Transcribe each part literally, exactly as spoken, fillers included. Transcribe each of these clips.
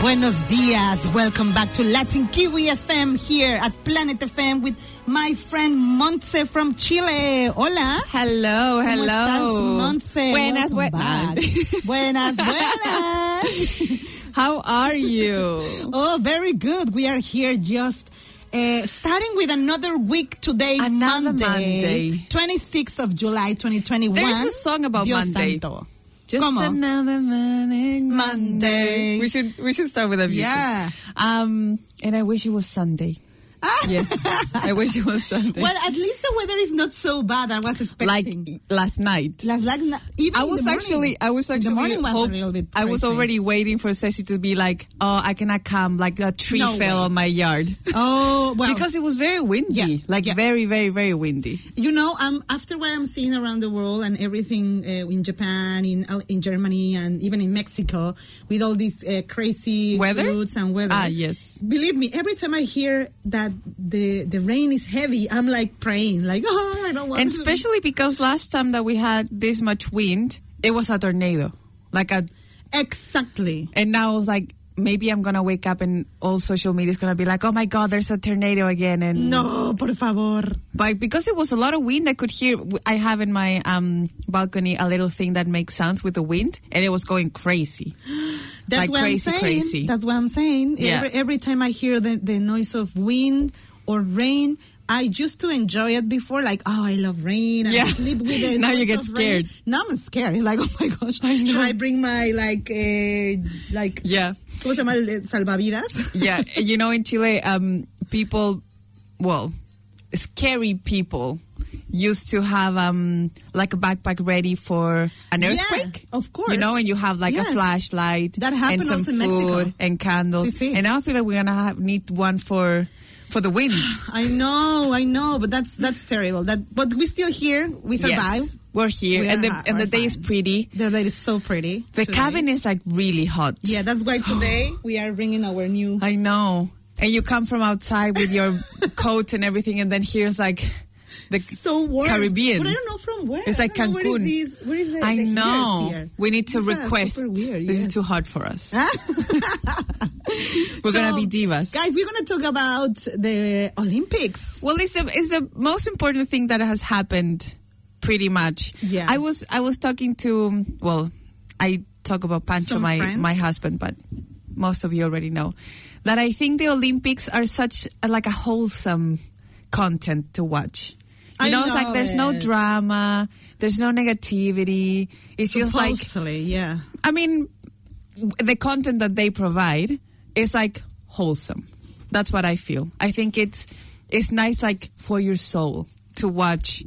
Buenos dias. Welcome back to Latin Kiwi F M here at Planet F M with my friend Montse from Chile. Hola. Hello, hello. ¿Cómo estás, Montse? Buenas, buenas. Buenas, buenas. How are you? Oh, very good. We are here just uh, starting with another week today, Another Monday, Monday. twenty-sixth of July, twenty twenty-one. There's a song about Dios Monday. Santo. Just ¿Cómo? another morning Monday. We should we should start with a music. Yeah. Um, and I wish it was Sunday. Yes, I wish it was Sunday. Well, at least the weather is not so bad. I was expecting. Like last night. Last, like, even I in was the actually, morning. I was actually, the morning was hope, a little bit I was crazy. already waiting for Ceci to be like, oh, I cannot come, like a tree No fell way. on my yard. Oh, well. Because it was very windy, Yeah, like yeah. very, very, very windy. You know, um, after what I'm seeing around the world and everything uh, in Japan, in uh, in Germany, and even in Mexico, with all these uh, crazy Weather? floods and weather. Ah, yes. Believe me, every time I hear that the the rain is heavy, I'm like praying, like, oh, I don't want And to. especially because last time that we had this much wind, it was a tornado. Like a, Exactly. and now I was like, maybe I'm gonna wake up and all social media is gonna be like, oh my god, there's a tornado again. And No, por favor. but because it was a lot of wind, I could hear. I have in my um, balcony a little thing that makes sounds with the wind, and it was going crazy. That's Like what crazy, I'm saying. crazy. That's what I'm saying. Yeah. Every, every time I hear the, the noise of wind or rain, I used to enjoy it before, like, oh, I love rain. And Yeah. I sleep with the Now noise you get of rain. scared. Now I'm scared. It's like, oh my gosh, I know. should I bring my, like, uh, like, Yeah. ¿cómo se llama? el salvavidas? Yeah, you know, in Chile, um, people, well, scary people used to have um, like a backpack ready for an Yeah, earthquake. of course. You know, and you have like Yes. a flashlight That happened and some also in food Mexico. and candles. Sí, sí. And now I feel like we're gonna have, need one for for the wind. I know, I know, but that's that's terrible. That, But we're still here. We survive. Yes, we're here, We and are the ha- and the we're day is fine. pretty. The day is so pretty. The today. cabin is like really hot. Yeah, that's why today we are bringing our new... I know. And you come from outside with your coat and everything, and then here's like the so warm. Caribbean. But I don't know from where. It's I like don't know Cancun. Where is, this, where is the, I the know. here? We need to These are request. super weird, This is yes. too hot for us. We're gonna be divas. Guys, we're going to talk about the Olympics. Well, it's the it's the most important thing that has happened, pretty much. Yeah. I was I was talking to well, I talk about Pancho, Some my friends. my husband, but most of you already know that I think the Olympics are such a, like a wholesome content to watch. You I know, it's like know there's no it. drama, there's no negativity. It's just like Supposedly, yeah. I mean, w- the content that they provide is like wholesome. That's what I feel. I think it's it's nice, like for your soul, to watch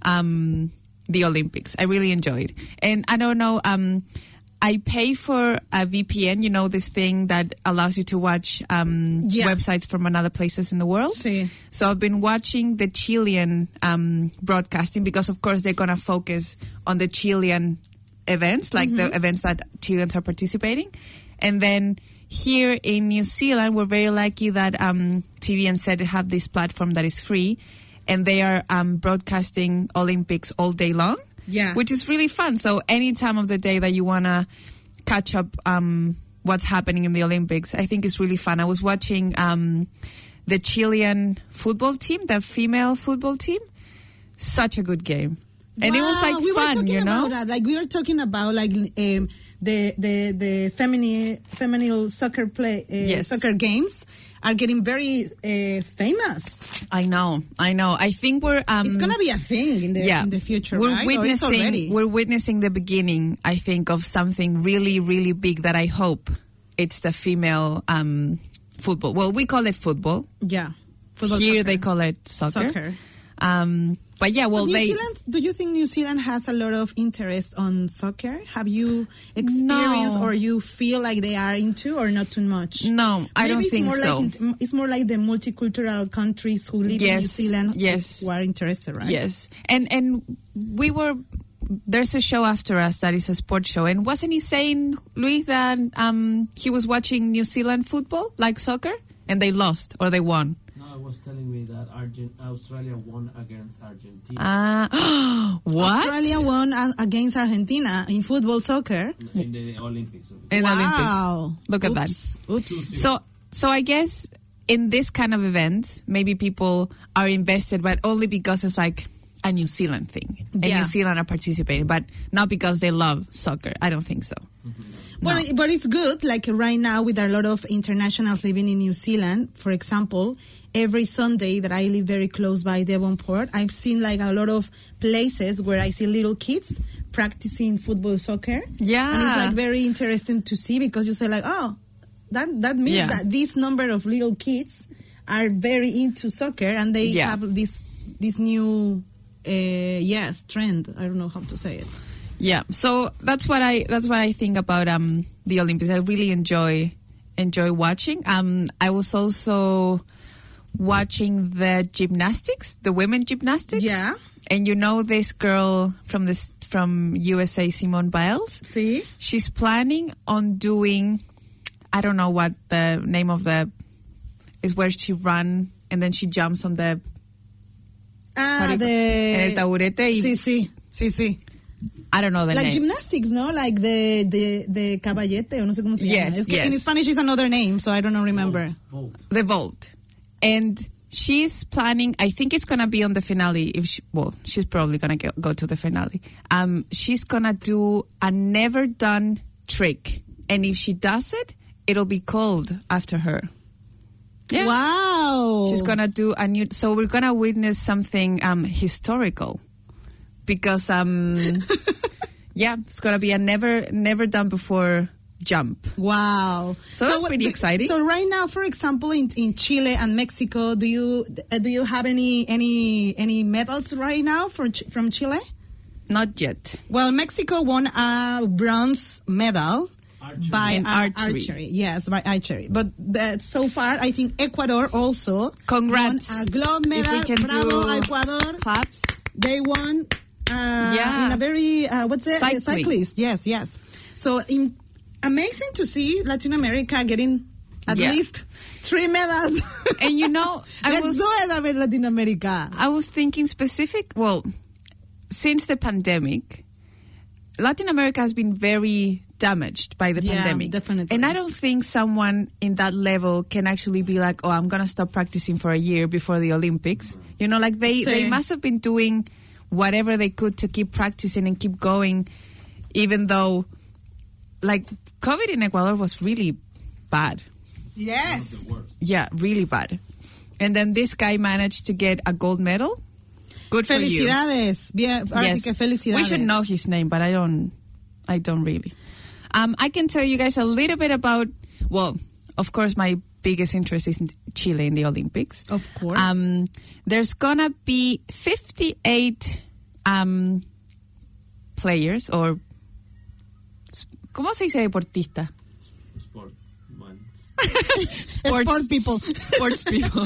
um, the Olympics. I really enjoyed, and I don't know. Um, I pay for a V P N. You know, this thing that allows you to watch um, Yeah. websites from other places in the world. Sí. So I've been watching the Chilean um, broadcasting because, of course, they're going to focus on the Chilean events, like the events that Chileans are participating. And then here in New Zealand, we're very lucky that um, T V N Z have this platform that is free, and they are um, broadcasting Olympics all day long. Yeah. Which is really fun. So any time of the day that you want to catch up um, what's happening in the Olympics, I think it's really fun. I was watching um, the Chilean football team, the female football team. Such a good game. And it was Wow, like we were fun, talking you know? about that. Like we were talking about like um, the the the feminine feminine soccer play uh, Yes. soccer games are getting very uh, famous. I know, I know. I think we're... Um, It's gonna be a thing in the yeah, in the future, we're right? Or it's already? witnessing we're witnessing the beginning, I think, of something really, really big that I hope it's the female um, football. Well, we call it football. Yeah. Football, Here soccer. they call it soccer. Soccer. Um, but yeah, well, But New they Zealand, do you think New Zealand has a lot of interest on soccer? Have you experienced No. or you feel like they are into or not too much? no, I Maybe don't it's think more so. Like, in- it's more like the multicultural countries who live in New Yes, Zealand yes. who are interested, right? Yes, and and we were. There's a show after us that is a sports show, and wasn't he saying, Luis, that um, he was watching New Zealand football, like soccer, and they lost or they won? No, it was was telling me that Argent- Australia won against Argentina. Ah, what? Australia won uh, against Argentina in football, soccer. In the Olympics. In the Wow. Olympics. Look at that. Oops. Oops. So, so I guess in this kind of events, maybe people are invested, but only because it's like a New Zealand thing. And Yeah. New Zealand are participating, but not because they love soccer. I don't think so. Well, No. but it's good. Like right now, with a lot of internationals living in New Zealand, for example, every Sunday that I live very close by Devonport, I've seen like a lot of places where I see little kids practicing football, soccer. Yeah. And it's like very interesting to see because you say like, oh, that that means Yeah. that this number of little kids are very into soccer and they Yeah. have this this new uh, yes trend. I don't know how to say it. Yeah, so that's what I that's what I think about um the Olympics. I really enjoy enjoy watching. Um, I was also watching the gymnastics, the women gymnastics. Yeah. And you know this girl from this from U S A, Simone Biles. See? She's planning on doing, I don't know what the name of the is where she run and then she jumps on the Ah, How do you- the en el taburete y- Sí, sí, sí, sí. I don't know the Like name. gymnastics, no? Like the the the caballete, o no sé cómo se Yes, llama. Es que yes. in Spanish is another name, so I don't know, remember. Volt. The vault. And she's planning, I think it's going to be on the finale. If she, well, she's probably going to go to the finale. Um, she's going to do a never done trick. And if she does it, it'll be called after her. Yeah. Wow. She's going to do a new, so we're going to witness something um, historical. Because, um, yeah, it's going to be a never, never done before jump. Wow. So that's what- pretty do- exciting. So right now, for example, in, in Chile and Mexico, do you uh, do you have any any any medals right now for Ch- from Chile? Not yet. Well, Mexico won a bronze medal Archery. by In uh, archery. Yes, by archery. But uh, so far, I think Ecuador also Congrats. won a gold If medal. we can Bravo, do Ecuador. claps. They won uh, Yeah. in a very uh, what's it? Cycling. Cyclist. Yes, yes. So in, amazing to see Latin America getting at Yeah. least three medals. And you know, I Let's was do it, a ver, Latin America. I was thinking specific. Well, since the pandemic, Latin America has been very damaged by the Yeah, pandemic. definitely. And I don't think someone in that level can actually be like, "Oh, I'm gonna stop practicing for a year before the Olympics." You know, like they Sí. they must have been doing whatever they could to keep practicing and keep going, even though, like, COVID in Ecuador was really bad. Yes. The worst. Yeah, really bad. And then this guy managed to get a gold medal. Good for you. Felicidades. Bien, ahora sí Yes. que felicidades. We should know his name, but I don't. I don't really. Um, I can tell you guys a little bit about. Well, of course, my biggest interest is in Chile in the Olympics. Of course. Um, there's gonna be fifty-eight um, players or. ¿Cómo se dice deportista? Sport. Man. Sport people. Sports people.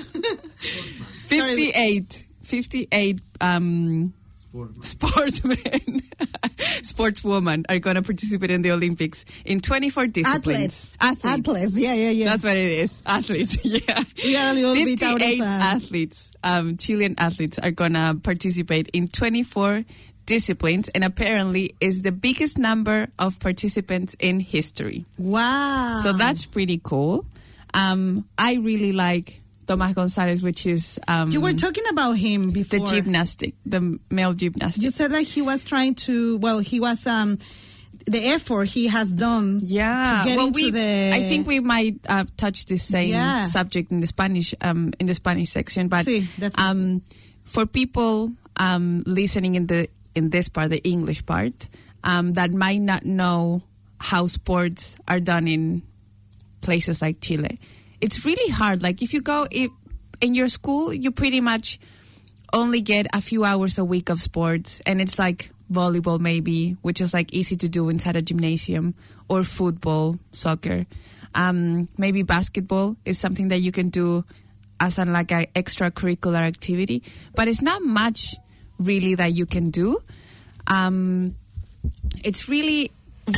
fifty-eight. fifty-eight um, Sport. sportsmen, sportswomen are going to participate in the Olympics in twenty-four disciplines. Athletes. Athletes. Yeah, yeah, yeah. That's what it is. Athletes. Yeah. We are a little bit out of, fifty-eight uh, athletes, um, Chilean athletes, are going to participate in twenty-four disciplines, and apparently is the biggest number of participants in history. Wow. So that's pretty cool. Um, I really like Tomás González, which is um, You were talking about him before. the gymnastic, the male gymnastic. You said that he was trying to, well, he was, um, the effort he has done Yeah, to get well, into we, the... I think we might uh, touch the same Yeah. subject in the Spanish um, in the Spanish section, but Sí, definitely. um, for people um, listening in the in this part, the English part, um, that might not know how sports are done in places like Chile, it's really hard. Like if you go if, in your school, you pretty much only get a few hours a week of sports, and it's like volleyball maybe, which is like easy to do inside a gymnasium, or football, soccer. Um, maybe basketball is something that you can do as an like an extracurricular activity, but it's not much really that you can do. Um, it's really,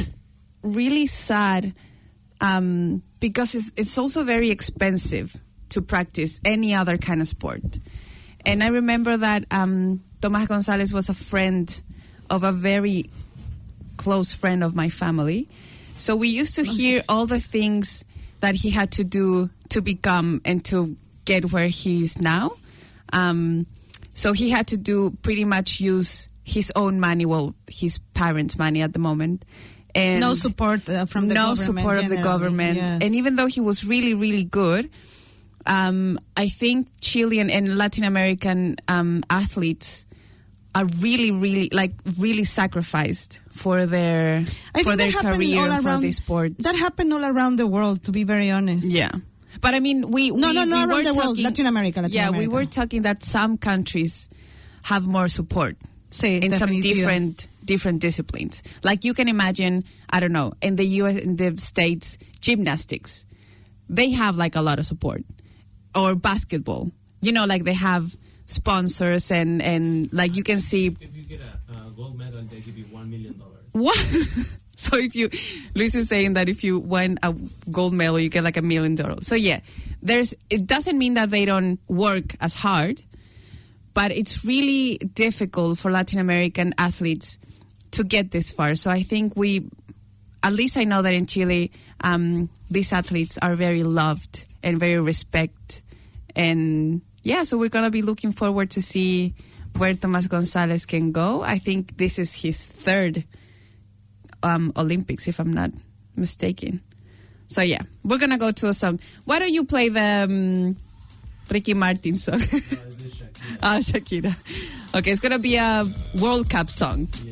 really sad um, because it's, it's also very expensive to practice any other kind of sport. And I remember that um, Tomás González was a friend of a very close friend of my family. So we used to hear all the things that he had to do to become and to get where he is now. Um, so he had to do pretty much use his own money, well, his parents' money at the moment. And no support uh, from the no government. No support of the government. Yes. And even though he was really, really good, um, I think Chilean and Latin American um, athletes are really, really, like, really sacrificed for their I for their think that career all and for around, the sports. That happened all around the world, to be very honest. Yeah. But I mean, we... No, we, no, no, we around were the talking, world, Latin America, Latin yeah, America. we were talking that some countries have more support sí, in definitivo. some different different disciplines. Like you can imagine, I don't know, in the U S, in the States, gymnastics, they have like a lot of support. Or basketball, you know, like they have sponsors and, and like you can see... If you get a uh, gold medal, they give you one million dollars. What? So if you, Luis is saying that if you win a gold medal, you get like a million dollars. So yeah, there's, it doesn't mean that they don't work as hard, but it's really difficult for Latin American athletes to get this far. So I think we, at least I know that in Chile, um, these athletes are very loved and very respected. And yeah, so we're going to be looking forward to see where Tomás González can go. I think this is his third um, Olympics, if I'm not mistaken. So yeah, we're going to go to a song. Why don't you play the um, Ricky Martin song? Ah, Shakira. Okay, it's going to be a World Cup song. Yeah.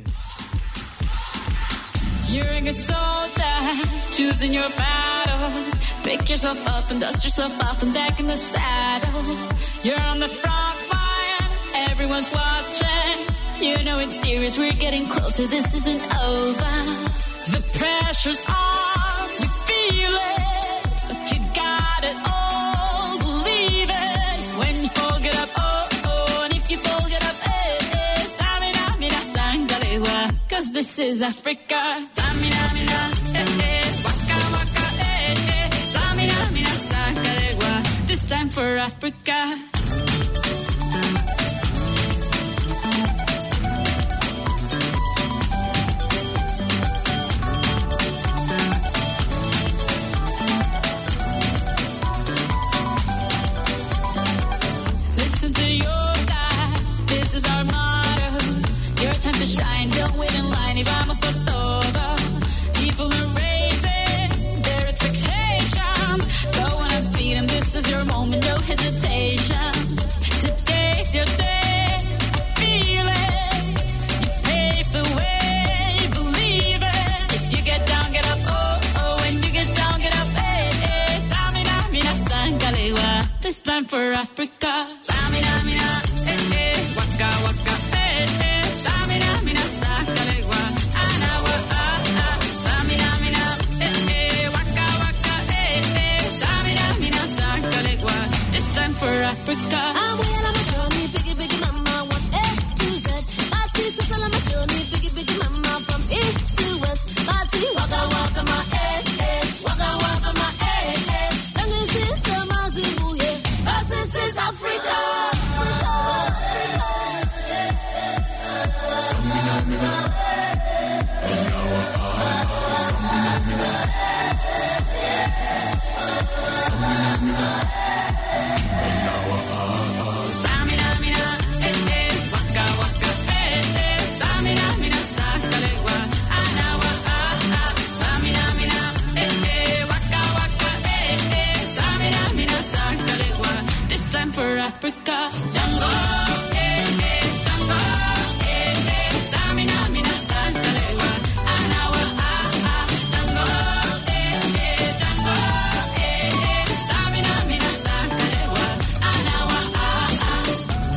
You're a good soldier, choosing your battles. Pick yourself up and dust yourself off and back in the saddle. You're on the front line, everyone's watching. You know it's serious, we're getting closer, this isn't over. The pressure's on, you feel it, but you got it all, believe it. When you fall, get up, oh, oh, and if you fall, get up, eh, eh. Samina, mina, sangalewa, cause this is Africa. Samina, mina, eh, eh, waka, waka, eh, eh. Samina, mina, sangalewa, this time for Africa. Shine, don't wait in line, y vamos por todo. People are raising their expectations. Go on and feed them, this is your moment, no hesitation. Today's your day, I feel it. You pave the way, believe it. If you get down, get up, oh, oh. When you get down, get up, eh, eh. Tamina, mina, sangalewa, this time for Africa. Tamina, mina, eh, eh. Waka, waka, eh, eh. For Africa. I'm well on my journey, biggie, biggie mama, one A to Z. My sister's on my journey, biggie, biggie mama, from east to west. My tea, waka, waka, my eh, eh, waka, waka, my eh, eh. Tangi sinsa mazimu, yeah, cause this is Africa. Samina, mina, Enawa, ah, Samina, mina, Samina, mina. Samina, mina, eh, eh, waka, waka, eh, eh. Samina, mina, sangalewa, anawa, ah, ah. Samina, mina, eh, eh, waka, waka, eh, eh. Samina, mina, sangalewa, this time for Africa. Tango, eh, eh, tango, eh, eh. Samina, mina, sangalewa, anawa, ah, ah. Tango, eh, eh, tango, eh, eh. Samina, mina, sangalewa, anawa, ah, ah.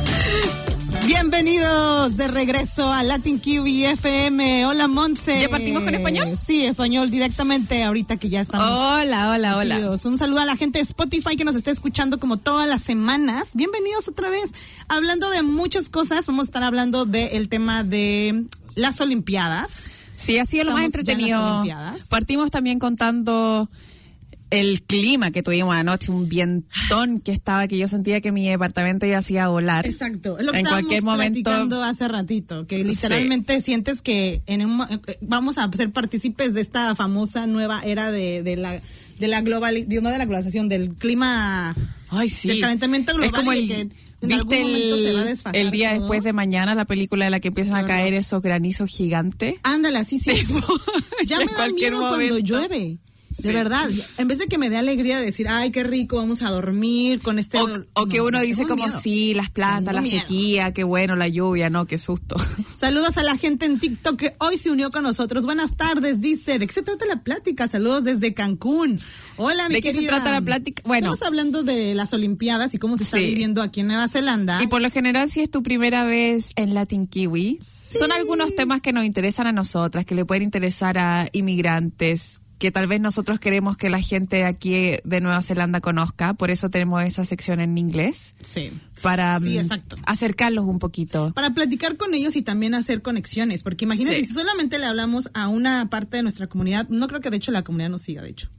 Bienvenidos de regreso a Latin Q B F M. Hola, Monse. ¿Ya partimos con español? Sí, español directamente ahorita que ya estamos. Hola, hola, hola. metidos. Un saludo a la gente de Spotify que nos está escuchando como todas las semanas. Bienvenidos otra vez. Hablando de muchas cosas, vamos a estar hablando del tema de las Olimpiadas. Sí, ha sido lo más Estamos ya en las entretenido. Olimpiadas. Partimos también contando el clima que tuvimos anoche, un vientón que estaba, que yo sentía que mi departamento ya hacía volar. Exacto, es lo que en estábamos cualquier momento platicando hace ratito, que literalmente sí. sientes que en un, vamos a ser partícipes de esta famosa nueva era de, de la de la global, de, no de la globalización, del clima, Ay, sí. del calentamiento global. Es como el, y que en ¿viste algún momento el, se va a desfasar el día todo? después de mañana, la película de la que empiezan Claro. a caer esos granizos gigantes? Ándale, así sí. Ya En me da cualquier miedo momento. cuando llueve. Sí. De verdad, en vez de que me dé alegría de decir, ay, qué rico, vamos a dormir con este... O, o que no, uno dice tengo como, miedo. sí, las plantas, Tengo la miedo. sequía, qué bueno, la lluvia, no, qué susto. Saludos a la gente en TikTok que hoy se unió con nosotros. Buenas tardes, dice. ¿De qué se trata la plática? Saludos desde Cancún. Hola, mi ¿De qué se querida. trata la plática? Bueno. Estamos hablando de las Olimpiadas y cómo se está Sí. viviendo aquí en Nueva Zelanda. Y por lo general, si es tu primera vez en Latin Kiwi, son algunos temas que nos interesan a nosotras, que le pueden interesar a inmigrantes, que tal vez nosotros queremos que la gente aquí de Nueva Zelanda conozca, por eso tenemos esa sección en inglés, Sí. para Sí, mm, exacto. acercarlos un poquito. Para platicar con ellos y también hacer conexiones, porque imagínense, Sí. si solamente le hablamos a una parte de nuestra comunidad, no creo que de hecho la comunidad nos siga, de hecho.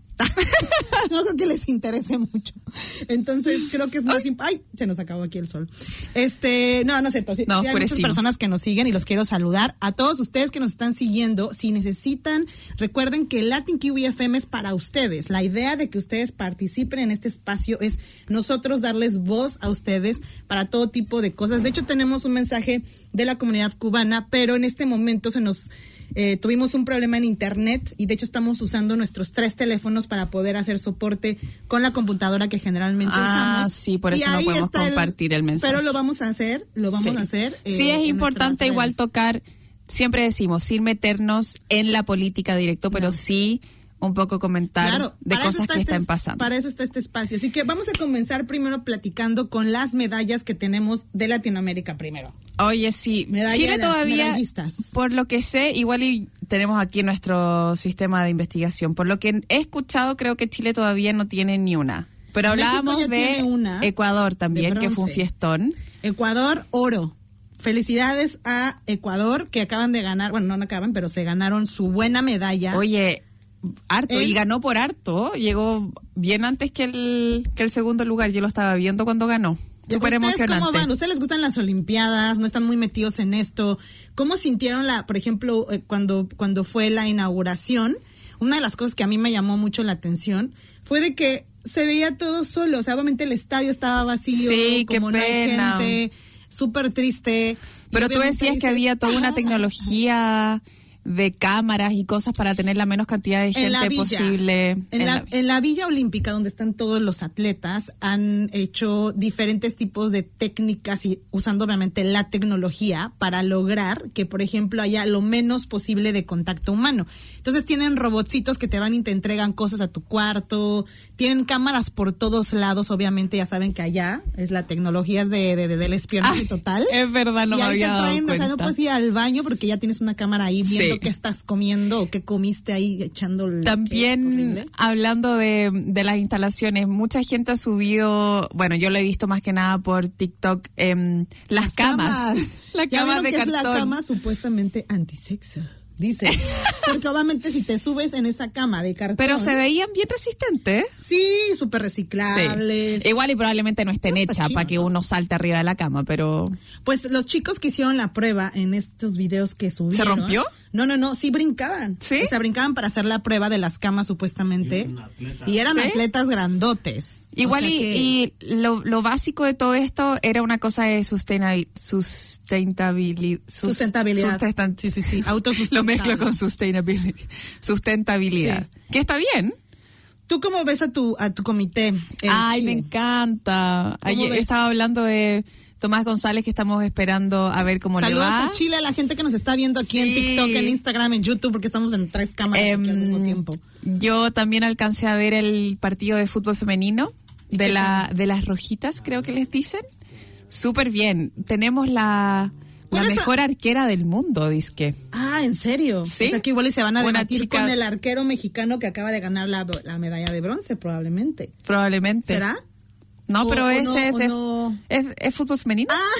No creo que les interese mucho. Entonces creo que es más imp- ay, se nos acabó aquí el sol. Este, no, no es cierto. Sí, No, sí hay muchas oscurecimos. personas que nos siguen y los quiero saludar. A todos ustedes que nos están siguiendo, si necesitan, recuerden que Latin Kiwi F M es para ustedes. La idea de que ustedes participen en este espacio es nosotros darles voz a ustedes para todo tipo de cosas. De hecho, tenemos un mensaje de la comunidad cubana, pero en este momento se nos Eh, tuvimos un problema en internet y de hecho estamos usando nuestros tres teléfonos para poder hacer soporte con la computadora que generalmente Ah, usamos. sí, por Y eso no ahí podemos está compartir el mensaje. Pero lo vamos a hacer, lo vamos Sí. a hacer. eh, Sí, es en importante nuestras igual redes. tocar, siempre decimos, sin meternos en la política directo, pero No. sí un poco comentar Claro, de para eso cosas está que este- están pasando. Para eso está este espacio. Así que vamos a comenzar primero platicando con las medallas que tenemos de Latinoamérica primero. Oye, sí, Medalla- Chile todavía, medallistas. por lo que sé, igual y tenemos aquí nuestro sistema de investigación. Por lo que he escuchado, creo que Chile todavía no tiene ni una. Pero México hablábamos ya de tiene una, Ecuador también, de que fue un bronce. fiestón. Ecuador, oro. Felicidades a Ecuador que acaban de ganar, bueno, no acaban, pero se ganaron su buena medalla. Oye, harto, El- y ganó por harto. Llegó bien antes que el, que el segundo lugar. Yo lo estaba viendo cuando ganó. Súper ¿Ustedes emocionante. cómo van? ¿Ustedes les gustan las Olimpiadas? ¿No están muy metidos en esto? ¿Cómo sintieron la, por ejemplo, eh, cuando, cuando fue la inauguración? Una de las cosas que a mí me llamó mucho la atención fue de que se veía todo solo. O sea, obviamente el estadio estaba vacío, Sí, qué como no hay pena. gente, súper triste. Y Pero tú obviamente decías que dices, había toda una "Ah". tecnología de cámaras y cosas para tener la menos cantidad de En la gente villa. posible. En, en la, la- en la Villa Olímpica, donde están todos los atletas, han hecho diferentes tipos de técnicas y usando obviamente la tecnología para lograr que, por ejemplo, haya lo menos posible de contacto humano. Entonces tienen robotcitos que te van y te entregan cosas a tu cuarto, tienen cámaras por todos lados, obviamente ya saben que allá es la tecnología es de, de, de- del espionaje Ay, total. es verdad, no y me ahí había te dado traen, o sea, no cuenta. puedes ir al baño porque ya tienes una cámara ahí viendo Sí. qué estás comiendo o qué comiste ahí echando el- También horrible. hablando de, de las instalaciones, mucha gente ha subido, bueno, yo lo he visto más que nada por TikTok, em, las, camas. Las ¿Ya camas vieron de que cartón. es la cama supuestamente antisexo? Dice. Porque obviamente si te subes en esa cama de cartón. Pero se veían bien resistentes. Sí, súper reciclables. Sí. Igual y probablemente no estén No, está hechas chido, para que ¿no? uno salte arriba de la cama, pero... Pues los chicos que hicieron la prueba en estos videos que subieron. rompió? No, no, no, sí brincaban. ¿Sí? O sea, brincaban para hacer la prueba de las camas supuestamente. Y un atleta. Y eran ¿Sí? atletas grandotes. O Igual sea y, que- y lo, lo básico de todo esto era una cosa de sustenabil- sustentabilidad. sus- Sustentabilidad. sustan- Sí, sí, sí. Lo Autosustentable. mezclo con sustainability. Sustentabilidad. Que está bien. ¿Tú cómo ves a tu a tu comité? en Ay, me Chile? encanta. ¿Cómo Ayer ves? estaba hablando de Tomás González, que estamos esperando a ver cómo Saludos le va. a Chile, a la gente que nos está viendo aquí en Sí. TikTok, en Instagram, en YouTube, porque estamos en tres cámaras aquí al Em, mismo tiempo. Yo también alcancé a ver el partido de fútbol femenino ¿Y de qué la de las rojitas, creo que les dicen. Súper bien. Tenemos la, la ¿Cuál es la- mejor arquera del mundo, dizque. Ah, ¿en serio? Sí. O sea, que igual y se van a Una debatir chica- con el arquero mexicano que acaba de ganar la, la medalla de bronce, probablemente. Probablemente. ¿Será? No, O- pero o ese no, es, o de- no. es, es fútbol femenino. Ah,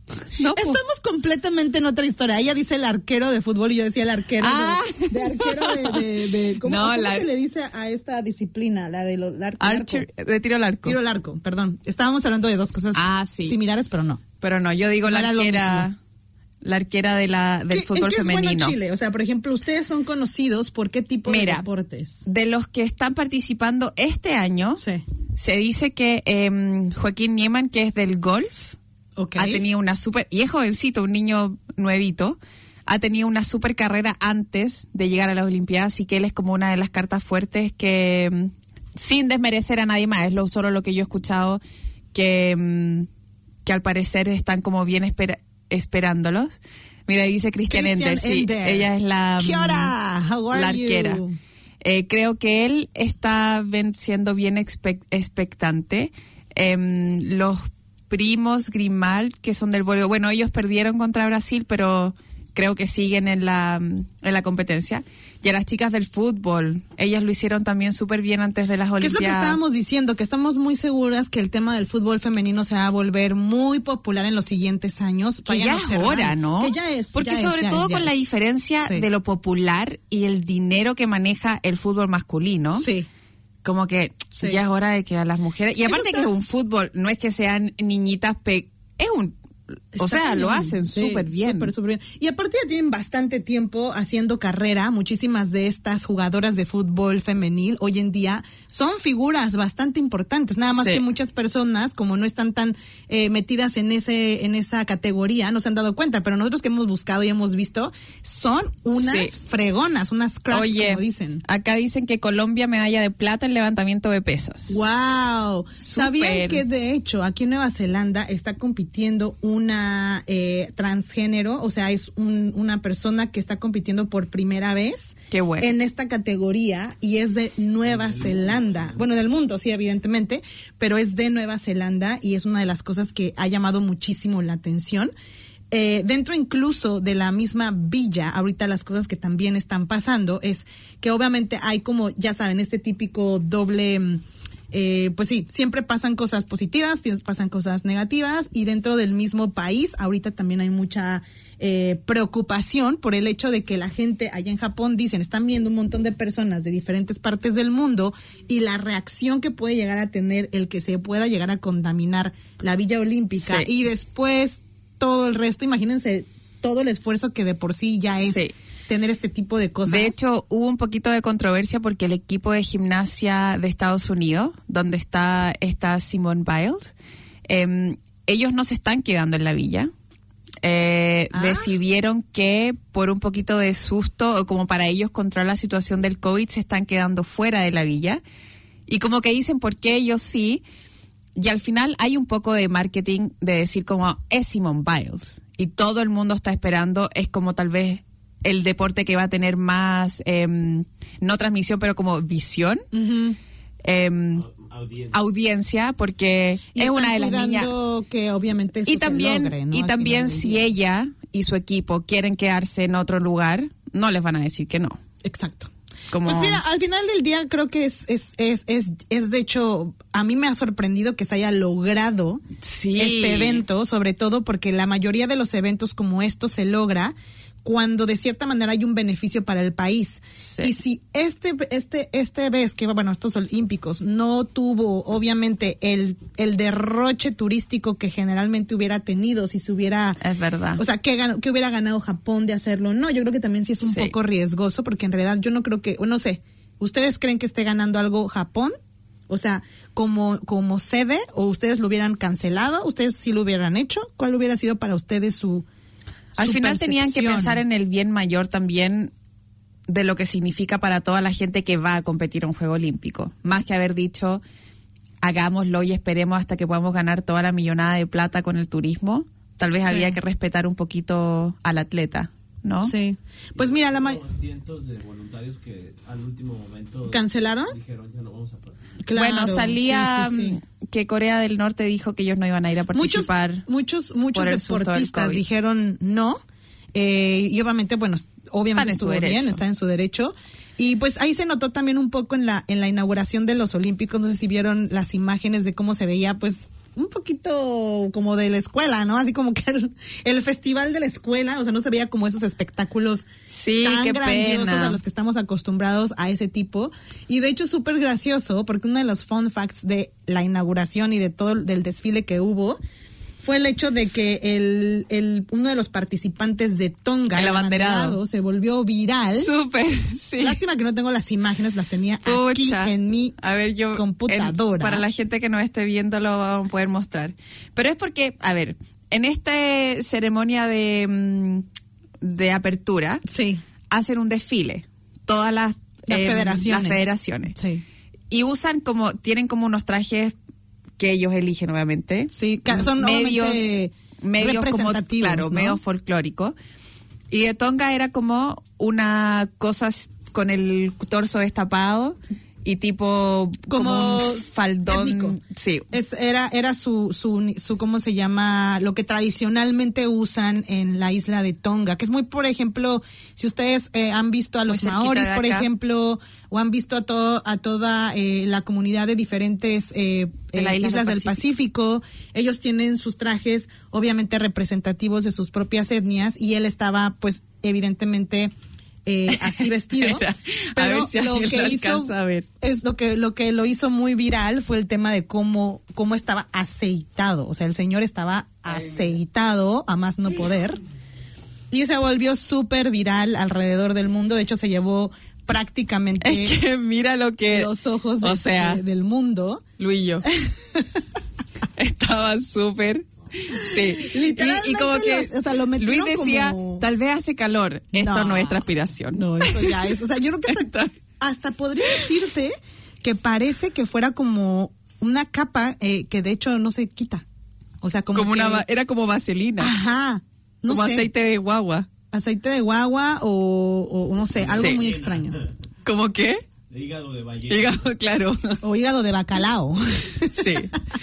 No, pues. Estamos completamente en otra historia. Ella dice el arquero de fútbol y yo decía el arquero Ah. de, de arquero de, de, de- ¿cómo, No, cómo la- se le dice a esta disciplina? La de los la arco- Archer, arco. de tiro al arco. Tiro al arco, perdón. Estábamos hablando de dos cosas Ah, sí. similares, pero no. Pero no, yo digo No la era lo arquera, mismo. la arquera de la, del ¿Qué- fútbol ¿En qué es femenino. bueno Chile? O sea, por ejemplo, ustedes son conocidos por qué tipo Mira, de deportes. de los que están participando este año, Sí. se dice que em, Joaquín Niemann, que es del golf, Ok. ha tenido una súper, y es jovencito, un niño nuevito, ha tenido una súper carrera antes de llegar a las Olimpiadas, así que él es como una de las cartas fuertes que, mm, sin desmerecer a nadie más, es lo, solo lo que yo he escuchado, que, mm, que al parecer están como bien espera- esperándolos. Mira, dice Cristian Christian Ender, sí, Ender. ella es la, ¿Qué mm, hora? How are la you? arquera. Eh, creo que él está ven- siendo bien expec- expectante. Em, los primos Grimal, que son del voleibol, bueno, ellos perdieron contra Brasil, pero creo que siguen en la, en la competencia. Y a las chicas del fútbol, ellas lo hicieron también súper bien antes de las ¿Qué es lo que Olimpiadas. estábamos diciendo? Que estamos muy seguras que el tema del fútbol femenino se va a volver muy popular en los siguientes años. Que Vayan ya a es observar. hora, ¿no? Que ya es. Porque ya es, sobre ya todo es, ya con la es. diferencia Sí. de lo popular y el dinero que maneja el fútbol masculino. Sí. Como que Sí. ya es hora de que a las mujeres... Y Eso aparte está- que es un fútbol, no es que sean niñitas... Pe es un... O Está sea, lo cañón. hacen Sí, súper bien. Súper, súper bien. Y aparte ya tienen bastante tiempo haciendo carrera. Muchísimas de estas jugadoras de fútbol femenil hoy en día son figuras bastante importantes. Nada más Sí. que muchas personas, como no están tan eh, metidas en ese en esa categoría, no se han dado cuenta. Pero nosotros que hemos buscado y hemos visto, son unas Sí. fregonas, unas cracks, Oye, como dicen. acá dicen que Colombia medalla de plata en levantamiento de pesas. Wow. ¿Sabían Súper. que de hecho aquí en Nueva Zelanda está compitiendo una eh, transgénero? O sea, es un- una persona que está compitiendo por primera vez Qué bueno. en esta categoría y es de Nueva Zelanda. Bueno, del mundo, sí, evidentemente, pero es de Nueva Zelanda y es una de las cosas que ha llamado muchísimo la atención. Eh, dentro incluso de la misma villa, ahorita las cosas que también están pasando es que obviamente hay como, ya saben, este típico doble, mm, eh, pues sí, siempre pasan cosas positivas, pi- pasan cosas negativas y dentro del mismo país ahorita también hay mucha eh, preocupación por el hecho de que la gente allá en Japón dicen, están viendo un montón de personas de diferentes partes del mundo y la reacción que puede llegar a tener el que se pueda llegar a contaminar la Villa Olímpica Sí. y después todo el resto, imagínense todo el esfuerzo que de por sí ya es Sí. tener este tipo de cosas. De hecho, hubo un poquito de controversia porque el equipo de gimnasia de Estados Unidos, donde está, está Simone Biles, eh, ellos no se están quedando en la villa. Eh, Ah. Decidieron que por un poquito de susto, o como para ellos controlar la situación del COVID, se están quedando fuera de la villa. Y como que dicen, ¿por qué ellos sí? Y al final hay un poco de marketing de decir como, es Simone Biles. Y todo el mundo está esperando, es como tal vez el deporte que va a tener más, em, no transmisión, pero como visión, Ujú. em, Audiencia. audiencia, porque Y es están una de las niñas. cuidando que obviamente eso Y se también, logre, ¿no? y Al también final del si día. ella y su equipo quieren quedarse en otro lugar, no les van a decir que no. Exacto. Como- Pues mira, al final del día creo que es, es, es, es, es de hecho, a mí me ha sorprendido que se haya logrado Sí. este evento, sobre todo porque la mayoría de los eventos como estos se logra cuando de cierta manera hay un beneficio para el país. Sí. Y si este este este vez que bueno, estos olímpicos no tuvo obviamente el el derroche turístico que generalmente hubiera tenido si se hubiera Es verdad. o sea, que, gan- que hubiera ganado Japón de hacerlo. No, yo creo que también sí es un Sí. poco riesgoso porque en realidad yo no creo que, o no sé, ¿ustedes creen que esté ganando algo Japón? O sea, como, como sede, o ustedes lo hubieran cancelado, ustedes sí lo hubieran hecho, ¿cuál hubiera sido para ustedes su Al su final tenían que percepción? pensar en el bien mayor también de lo que significa para toda la gente que va a competir a un Juego Olímpico. Más que haber dicho, hagámoslo y esperemos hasta que podamos ganar toda la millonada de plata con el turismo. Tal vez Sí. había que respetar un poquito al atleta, ¿no? Sí. Pues mira, la ma- Hubo cientos de voluntarios que al último momento ¿Cancelaron? dijeron ya no vamos a participar. Claro, Bueno, salía sí, sí, sí. mm, que Corea del Norte dijo que ellos no iban a ir a Muchos, participar. muchos, muchos por el susto del deportistas COVID. dijeron no, eh, y obviamente, bueno, obviamente Están en su estuvo bien, derecho. está en su derecho. Y pues ahí se notó también un poco en la en la inauguración de los Olímpicos, no sé si vieron las imágenes de cómo se veía, pues un poquito como de la escuela, ¿no? Así como que el, el festival de la escuela, o sea, no se veía como esos espectáculos Sí, tan qué grandiosos pena. a los que estamos acostumbrados a ese tipo. Y de hecho, súper gracioso, porque uno de los fun facts de la inauguración y de todo el del desfile que hubo fue el hecho de que el, el uno de los participantes de Tonga, El abanderado. se volvió viral. Súper, sí. Lástima que no tengo las imágenes, las tenía aquí Pucha. en mi A ver, yo computadora. en- para la gente que no esté viendo lo vamos a poder mostrar. Pero es porque, a ver, en esta ceremonia de, mm, de apertura Sí, hacen un desfile. Todas las, las em, federaciones. las federaciones. Sí. Y usan como, tienen como unos trajes que ellos eligen, obviamente. Sí, ca- son medios, obviamente medios como, representativos, claro, ¿no? medios folclóricos. Y de Tonga era como una cosa s- con el torso destapado y tipo como, Como un faldón. étnico. Sí. Es, era era su, su, su, ¿cómo se llama? Lo que tradicionalmente usan en la isla de Tonga, que es muy, por ejemplo, si ustedes eh, han visto a los cerquita maoris, de por acá. ejemplo, o han visto a, todo, a toda eh, la comunidad de diferentes eh, De la eh, isla islas del del Pacífico. ellos tienen sus trajes obviamente representativos de sus propias etnias y él estaba, pues, evidentemente... Eh, así vestido, Espera, a pero ver si lo alguien que lo hizo alcanza a ver. es lo que lo que lo hizo muy viral fue el tema de cómo cómo estaba aceitado, o sea, el señor estaba aceitado a más no poder y se volvió súper viral alrededor del mundo. De hecho, se llevó prácticamente Es que mira lo que... los ojos de- o sea, de- del mundo. Luillo. Estaba súper... Sí. Literalmente y, y como que los- o sea, lo Luis metieron decía, como- tal vez hace calor. Esto no, No. es transpiración. No, eso ya es. O sea, yo creo que hasta, Está- hasta podría decirte que parece que fuera como una capa eh, que de hecho no se quita. O sea, como, como que- una va- era como vaselina, Ajá. No como sé, aceite de guagua. aceite de guagua o, o no sé, algo Sí. muy extraño. ¿Cómo qué? De hígado de ballena. Hígado, claro. O hígado de bacalao. Sí.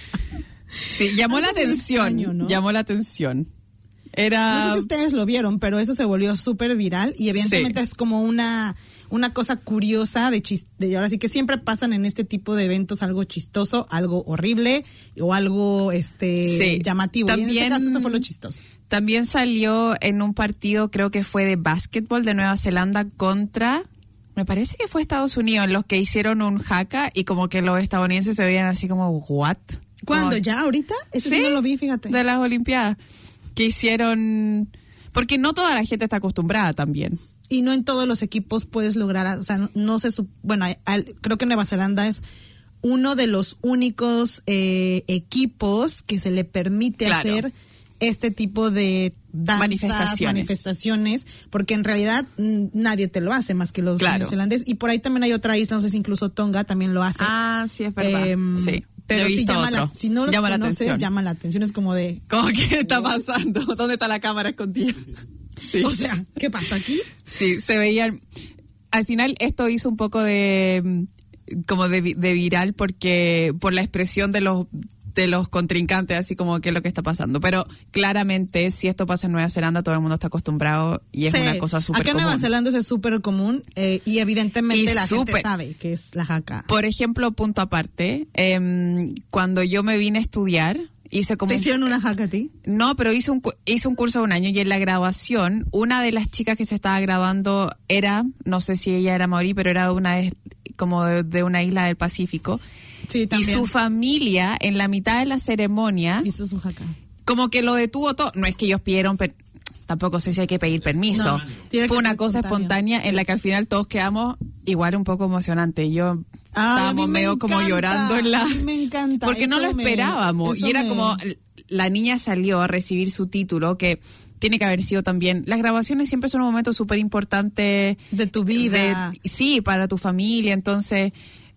Sí, llamó la Algo muy atención, extraño, ¿no? llamó la atención. No Era sé si ustedes lo vieron, pero eso se volvió súper viral y evidentemente Sí. es como una una cosa curiosa de chis- de ahora sí que siempre pasan en este tipo de eventos algo chistoso, algo horrible o algo este Sí. llamativo. y en También- este caso esto fue lo chistoso. También salió en un partido, creo que fue de básquetbol de Nueva Zelanda contra, me parece que fue Estados Unidos, los que hicieron un haka y como que los estadounidenses se veían así como, ¿what? ¿Cuándo? Como- ¿Ya? ¿Ahorita? Ese sí, Sí, no lo vi, fíjate. de las Olimpiadas, que hicieron, porque no toda la gente está acostumbrada también. Y no en todos los equipos puedes lograr, o sea, no, no se, sup- bueno, al- creo que Nueva Zelanda es uno de los únicos eh, equipos que se le permite Claro. hacer este tipo de danzas, Manifestaciones. manifestaciones, porque en realidad mm, nadie te lo hace más que los Claro. neozelandeses. Y por ahí también hay otra isla, no sé si incluso Tonga también lo hace. Ah, sí, es verdad. Em, sí, pero yo he sí visto llama la, otro. si no los llama la conoces, atención. llama la atención. Es como de, ¿Cómo que está pasando? ¿Dónde está la cámara escondida? Sí. o sea, ¿qué pasa aquí? Sí, se veían. Al final esto hizo un poco de mm, como de, vi- de viral porque por la expresión de los de los contrincantes, así como qué es lo que está pasando. Pero claramente si esto pasa en Nueva Zelanda todo el mundo está acostumbrado y es Sí. una cosa súper Acá en común. Nueva Zelanda eso es súper común eh, y evidentemente Y la gente súper- sabe que es la jaca. Por ejemplo, punto aparte, em, cuando yo me vine a estudiar hice como ¿Te un- hicieron una jaca a ti? No, pero hice un, cu- hice un curso de un año y en la graduación, una de las chicas que se estaba graduando era, no sé si ella era maorí, pero era de una de- como de, de una isla del Pacífico. Sí, Y también. su familia, en la mitad de la ceremonia, Hizo su jaca. como que lo detuvo todo. No es que ellos pidieron, per- tampoco sé si hay que pedir permiso. No, tiene que Fue una ser cosa espontáneo. espontánea en la que al final todos quedamos igual un poco emocionante. Yo Ay, a estábamos mí me medio como encanta, llorando en la... a mí me encanta, Porque no eso lo me- esperábamos. eso Y era me- como, la niña salió a recibir su título, que tiene que haber sido también... Las grabaciones siempre son un momento súper importante. De tu vida. de- sí, para tu familia. Entonces,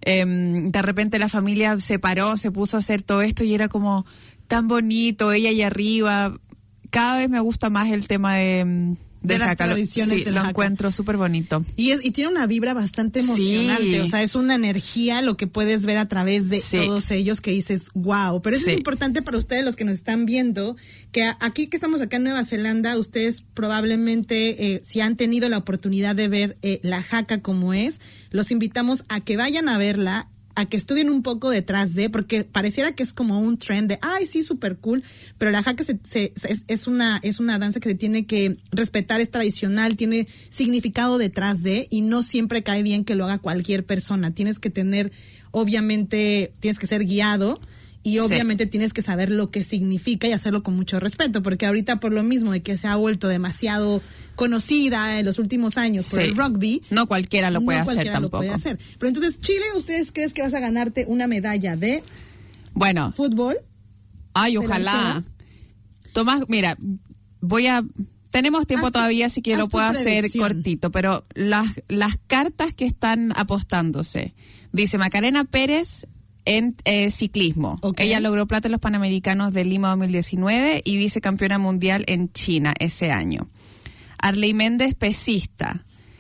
em, de repente la familia se paró, se puso a hacer todo esto y era como tan bonito, ella ahí arriba. Cada vez me gusta más el tema de... em, De del las jaca. Lo- tradiciones sí, del lo jaca. encuentro súper bonito. Y, es, y tiene una vibra bastante Sí. emocionante, o sea, es una energía lo que puedes ver a través de Sí. todos ellos que dices, wow, pero eso Sí. es importante para ustedes los que nos están viendo, que a- aquí que estamos acá en Nueva Zelanda, ustedes probablemente, eh, si han tenido la oportunidad de ver eh, la jaca como es, los invitamos a que vayan a verla. a que estudien un poco detrás de, porque pareciera que es como un trend de, ay, sí, súper cool, pero la haka se, se, es, es, una, es una danza que se tiene que respetar, es tradicional, tiene significado detrás de, y no siempre cae bien que lo haga cualquier persona. Tienes que tener, obviamente, tienes que ser guiado, y obviamente sí. tienes que saber lo que significa y hacerlo con mucho respeto, porque ahorita por lo mismo de que se ha vuelto demasiado conocida en los últimos años por sí. el rugby. No cualquiera lo puede no hacer cualquiera tampoco. Lo puede hacer. Pero entonces, Chile, ¿ustedes creen que vas a ganarte una medalla de bueno, fútbol? Ay, ojalá. Tomás, mira, voy a... Tenemos tiempo haz todavía, así que tu, lo puedo hacer predicción. cortito, pero las, las cartas que están apostándose. Dice Macarena Pérez en eh, ciclismo. Okay. Ella logró plata en los Panamericanos de Lima dos mil diecinueve y vicecampeona mundial en China ese año. Arley Méndez, pesista.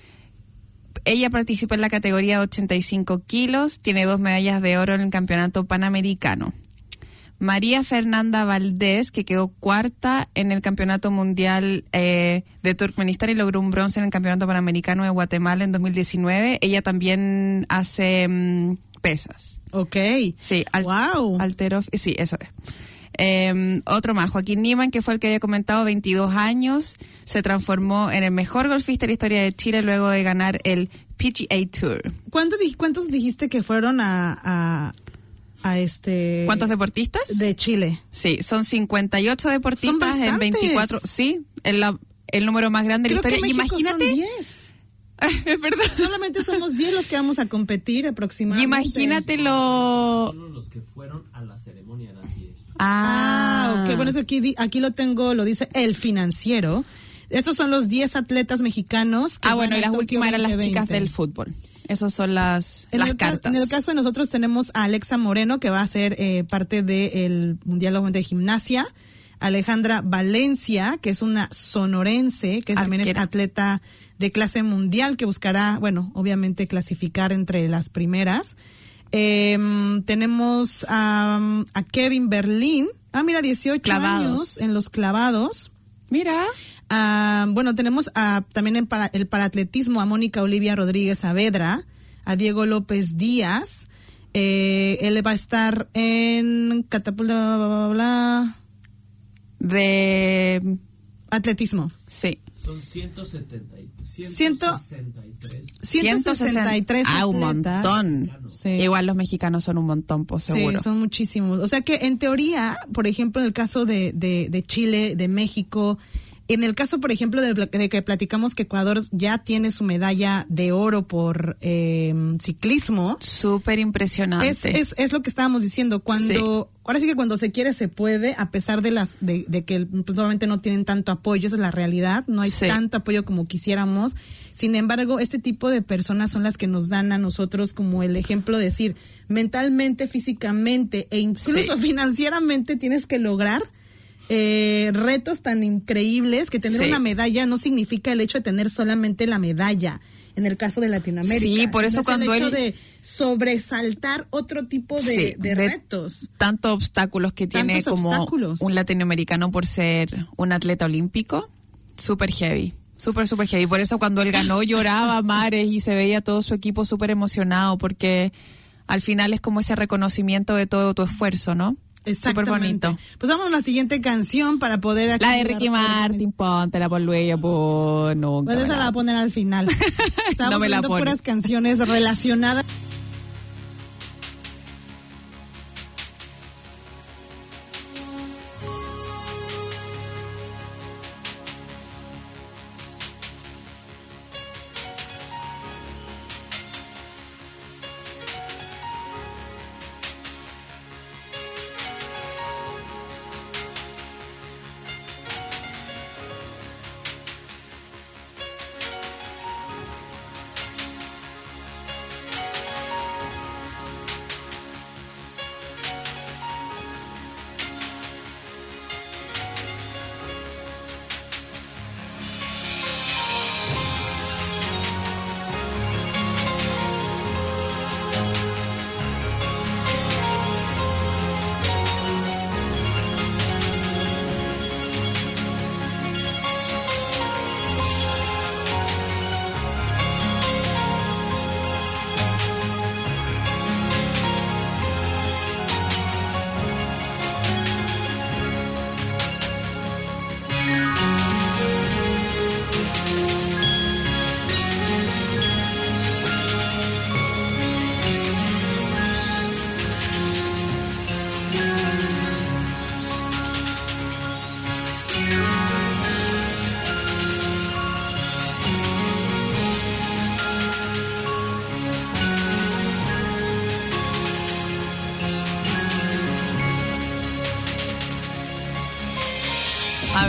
Ella participa en la categoría de ochenta y cinco kilos, tiene dos medallas de oro en el campeonato panamericano. María Fernanda Valdés, que quedó cuarta en el campeonato mundial eh, de Turkmenistán y logró un bronce en el campeonato panamericano de Guatemala en dos mil diecinueve. Ella también hace um, pesas. Ok. Sí, al, wow. Alterof, sí, eso es. Eh, otro más, Joaquín Niemann, que fue el que había comentado, veintidós años, se transformó en el mejor golfista de la historia de Chile luego de ganar el P G A Tour. ¿Cuántos, ¿Cuántos dijiste que fueron a, a, a este... ¿Cuántos deportistas? De Chile. Sí, son cincuenta y ocho deportistas en veinticuatro. Sí, el, la, el número más grande de la Creo historia. que México Imagínate. son diez. Es verdad. Solamente somos diez los que vamos a competir aproximadamente. Y imagínate lo... Solo los que fueron a la ceremonia eran diez. Ah, ok. Bueno, eso aquí, aquí lo tengo, lo dice El Financiero. Estos son los diez atletas mexicanos. Que ah, bueno, van y a las Tokio últimas eran las veinte veinte. chicas del fútbol. Esas son las, en las el cartas. Ca- en el caso de nosotros tenemos a Alexa Moreno, que va a ser eh, parte del Mundial de Gimnasia. Alejandra Valencia, que es una sonorense, que también es Arquera. atleta de clase mundial, que buscará, bueno, obviamente clasificar entre las primeras. Eh, tenemos a, a Kevin Berlín. Ah, mira, dieciocho Clavados. años en los clavados. Mira. Ah, bueno, tenemos a, también en para, el paraatletismo a Mónica Olivia Rodríguez Saavedra, a Diego López Díaz. Eh, él va a estar en catapulta, bla, bla, bla, bla. De... Atletismo. Sí. Son ciento setenta y, Ciento- ciento sesenta y tres. ciento sesenta y tres Ah, un atletas. montón. Sí. Igual los mexicanos son un montón, pues seguro. Sí, son muchísimos. O sea que en teoría, por ejemplo, en el caso de, de, de Chile, de México, en el caso, por ejemplo, de, de que platicamos que Ecuador ya tiene su medalla de oro por eh, ciclismo, Súper impresionante. es, es, es lo que estábamos diciendo. Cuando, ahora sí que cuando se quiere se puede, a pesar de las de, de que pues, normalmente no tienen tanto apoyo, esa es la realidad, no hay Sí. tanto apoyo como quisiéramos. Sin embargo, este tipo de personas son las que nos dan a nosotros como el ejemplo de decir, mentalmente, físicamente e incluso Sí. financieramente tienes que lograr eh, retos tan increíbles que tener Sí. una medalla no significa el hecho de tener solamente la medalla. En el caso de Latinoamérica. Sí, por eso sino es cuando el hecho él- de sobresaltar otro tipo de, Sí, de de- retos. Tantos obstáculos que tiene Tantos como obstáculos. un latinoamericano por ser un atleta olímpico. Súper heavy. Súper, súper heavy. Por eso cuando él ganó lloraba a mares y se veía todo su equipo súper emocionado porque al final es como ese reconocimiento de todo tu esfuerzo, ¿no? Súper Exactamente. bonito. Pues vamos a la siguiente canción para poder... aquí La de dar- Ricky Martin, póntela por Luis, por nunca. Pues esa me la voy a poner al final. Estamos No me la poniendo pones. puras canciones relacionadas.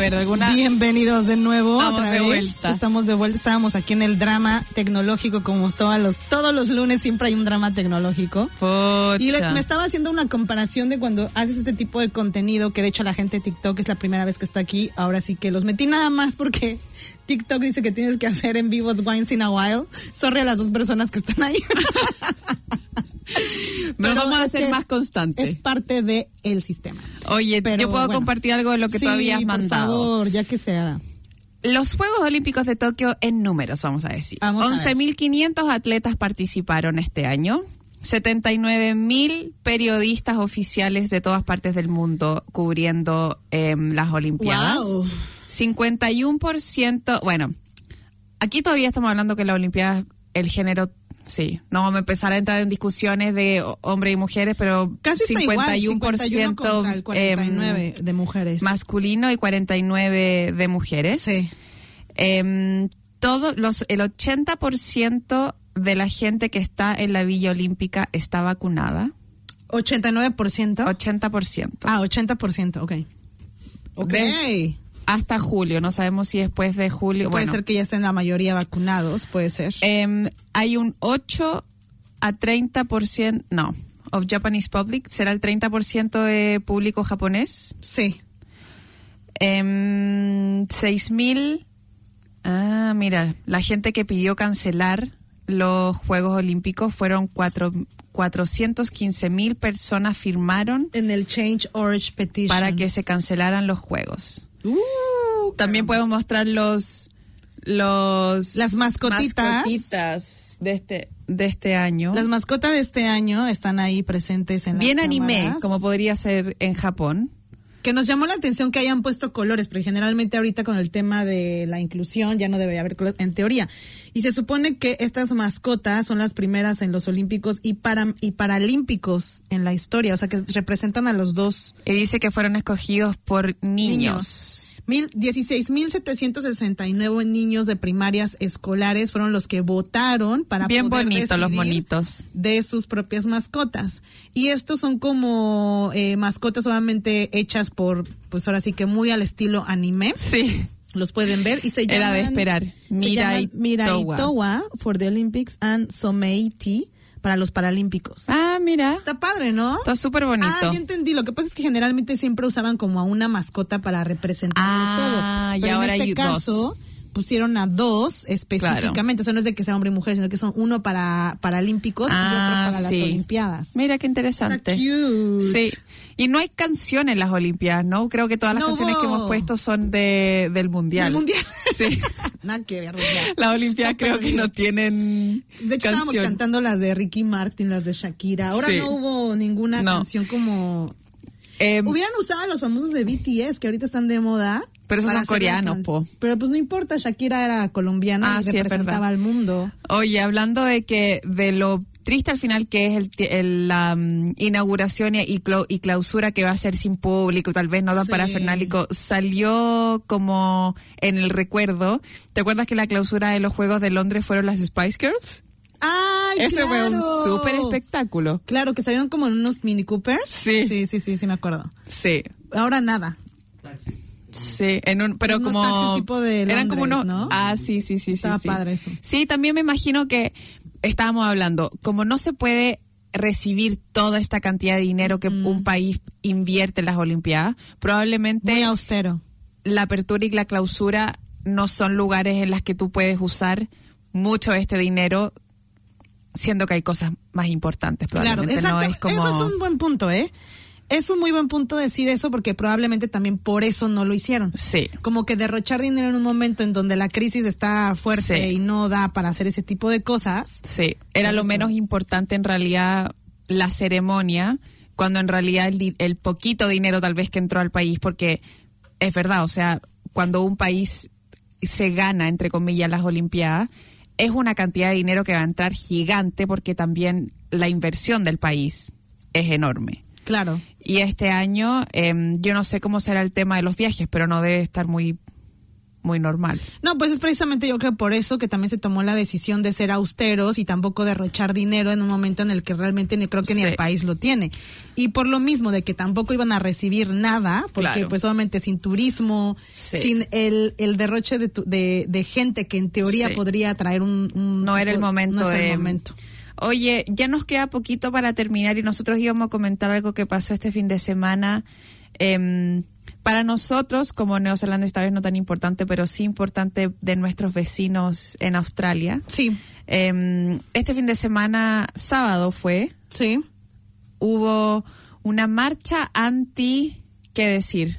ver, alguna... Bienvenidos de nuevo. Estamos otra de vez. vuelta. Estamos de vuelta. Estábamos aquí en el drama tecnológico, como todos los, todos los lunes siempre hay un drama tecnológico. Pocha. Y le- me estaba haciendo una comparación de cuando haces este tipo de contenido, que de hecho la gente de TikTok es la primera vez que está aquí. Ahora sí que los metí nada más porque TikTok dice que tienes que hacer en vivos once in a while. Sorry a las dos personas que están ahí. Pero vamos a es ser que más es- constantes. Es parte del el sistema. Oye, Pero yo puedo bueno. compartir algo de lo que Sí, tú habías por mandado. favor, ya que sea. Los Juegos Olímpicos de Tokio en números, vamos a decir. Vamos a ver. once mil quinientos atletas participaron este año. setenta y nueve mil periodistas oficiales de todas partes del mundo cubriendo eh, las Olimpiadas. Wow. cincuenta y uno por ciento, bueno, aquí todavía estamos hablando que las Olimpiadas, el género, sí, no vamos a empezar a entrar en discusiones de ho- hombres y mujeres, pero Casi está cincuenta y uno por igual, ciento cincuenta y uno contra el cuarenta y nueve em, de mujeres. masculino y cuarenta y nueve de mujeres. Sí. Em, todo, los, el ochenta por ciento de la gente que está en la Villa Olímpica está vacunada. ochenta y nueve por ciento. ochenta por ciento. Ah, ochenta por ciento, ok. Ok. De- Hasta julio, no sabemos si después de julio. Puede bueno, ser que ya estén la mayoría vacunados, puede ser. em, hay un ocho a treinta por ciento, no, of Japanese public, será el treinta por ciento de público japonés. Sí. Em, seis mil, ah, mira, la gente que pidió cancelar los Juegos Olímpicos fueron cuatro, cuatrocientos quince mil personas firmaron En el Change Org Petition. para que se cancelaran los Juegos. Uh, También podemos mostrar los los Las mascotitas. mascotitas de este de este año. Las mascotas de este año están ahí presentes en Bien las anime, cámaras. como podría ser en Japón. Que nos llamó la atención que hayan puesto colores, porque generalmente ahorita con el tema de la inclusión ya no debería haber colores, en teoría. Y se supone que estas mascotas son las primeras en los olímpicos y para y paralímpicos en la historia, o sea que representan a los dos Y dice que fueron escogidos por niños. Mil, dieciséis mil setecientos sesenta y nueve niños de primarias escolares fueron los que votaron para Bien poder bonitos los decidir monitos. de sus propias mascotas. Y estos son como eh, mascotas obviamente hechas por, pues ahora sí que muy al estilo anime. Sí. Los pueden ver y se llaman... Era de esperar. se Mirai llaman Mirai Towa. Towa for the Olympics and Someiti para los Paralímpicos. Ah, mira. Está padre, ¿no? Está súper bonito. Ah, ya entendí. Lo que pasa es que generalmente siempre usaban como a una mascota para representar Ah, de y todo. Pero ahora en hay este dos. caso pusieron a dos específicamente. O sea, no es de que sea hombre y mujer, sino que son uno para paralímpicos y otro Ah, para sí. las Olimpiadas. Mira qué interesante. Está cute. Sí. Y no hay canciones en las Olimpiadas, ¿no? Creo que todas las No canciones que hubo. hemos puesto son de del Mundial. ¿Del Mundial? Sí. Nada que ver. ya. Las Olimpiadas No, creo pero que digo, no tienen De hecho, estábamos canción. cantando las de Ricky Martin, las de Shakira. Ahora Sí. no hubo ninguna No. canción como... Eh, Hubieran usado a los famosos de B T S, que ahorita están de moda. Pero esos para son hacer la coreanos, can- po. Pero pues no importa, Shakira era colombiana Ah, y sí, es representaba verdad. al mundo. Oye, hablando de que de lo triste al final que es el, ti- el, la mm, inauguración y, y clau- y clausura que va a ser sin público, tal vez no tan Sí. parafernálico, salió como en el recuerdo. ¿Te acuerdas que la clausura de los Juegos de Londres fueron las Spice Girls? ¡Ay, Ese claro! fue un súper espectáculo. Claro, que salieron como en unos Mini Coopers. Sí. Sí, sí, sí, sí, me acuerdo. Sí. Ahora nada. Taxi. Sí, en un, pero Unos como taxis tipo de eran como Londres, unos, ¿no? ah, sí, sí, sí, Estaba sí, sí. padre eso. Sí, también me imagino que estábamos hablando, como no se puede recibir toda esta cantidad de dinero que un país invierte en las Olimpiadas, probablemente Muy austero. la apertura y la clausura no son lugares en las que tú puedes usar mucho de este dinero, siendo que hay cosas más importantes. Claro, Probablemente exacto. no es como Eso es un buen punto, ¿eh? Es un muy buen punto decir eso porque probablemente también por eso no lo hicieron. sí. Como que derrochar dinero en un momento en donde la crisis está fuerte Sí. y no da para hacer ese tipo de cosas. Sí, era Por lo eso. menos importante en realidad la ceremonia, cuando en realidad el, di- el poquito dinero tal vez que entró al país, porque es verdad, o sea, cuando un país se gana, entre comillas, las Olimpiadas, es una cantidad de dinero que va a entrar gigante porque también la inversión del país es enorme. Claro. Y este año, eh, yo no sé cómo será el tema de los viajes, pero no debe estar muy muy normal. No, pues es precisamente yo creo por eso que también se tomó la decisión de ser austeros y tampoco derrochar dinero en un momento en el que realmente ni creo que ni Sí. el país lo tiene. Y por lo mismo de que tampoco iban a recibir nada, porque Claro. pues obviamente sin turismo, Sí. sin el, el derroche de, tu- de, de gente que en teoría Sí. podría traer un, un No era el momento no es el de- momento. Oye, ya nos queda poquito para terminar y nosotros íbamos a comentar algo que pasó este fin de semana. Em, para nosotros, como neozelandeses, tal vez no tan importante, pero sí importante de nuestros vecinos en Australia. Sí, Em, este fin de semana, sábado fue, sí. hubo una marcha anti, ¿qué decir?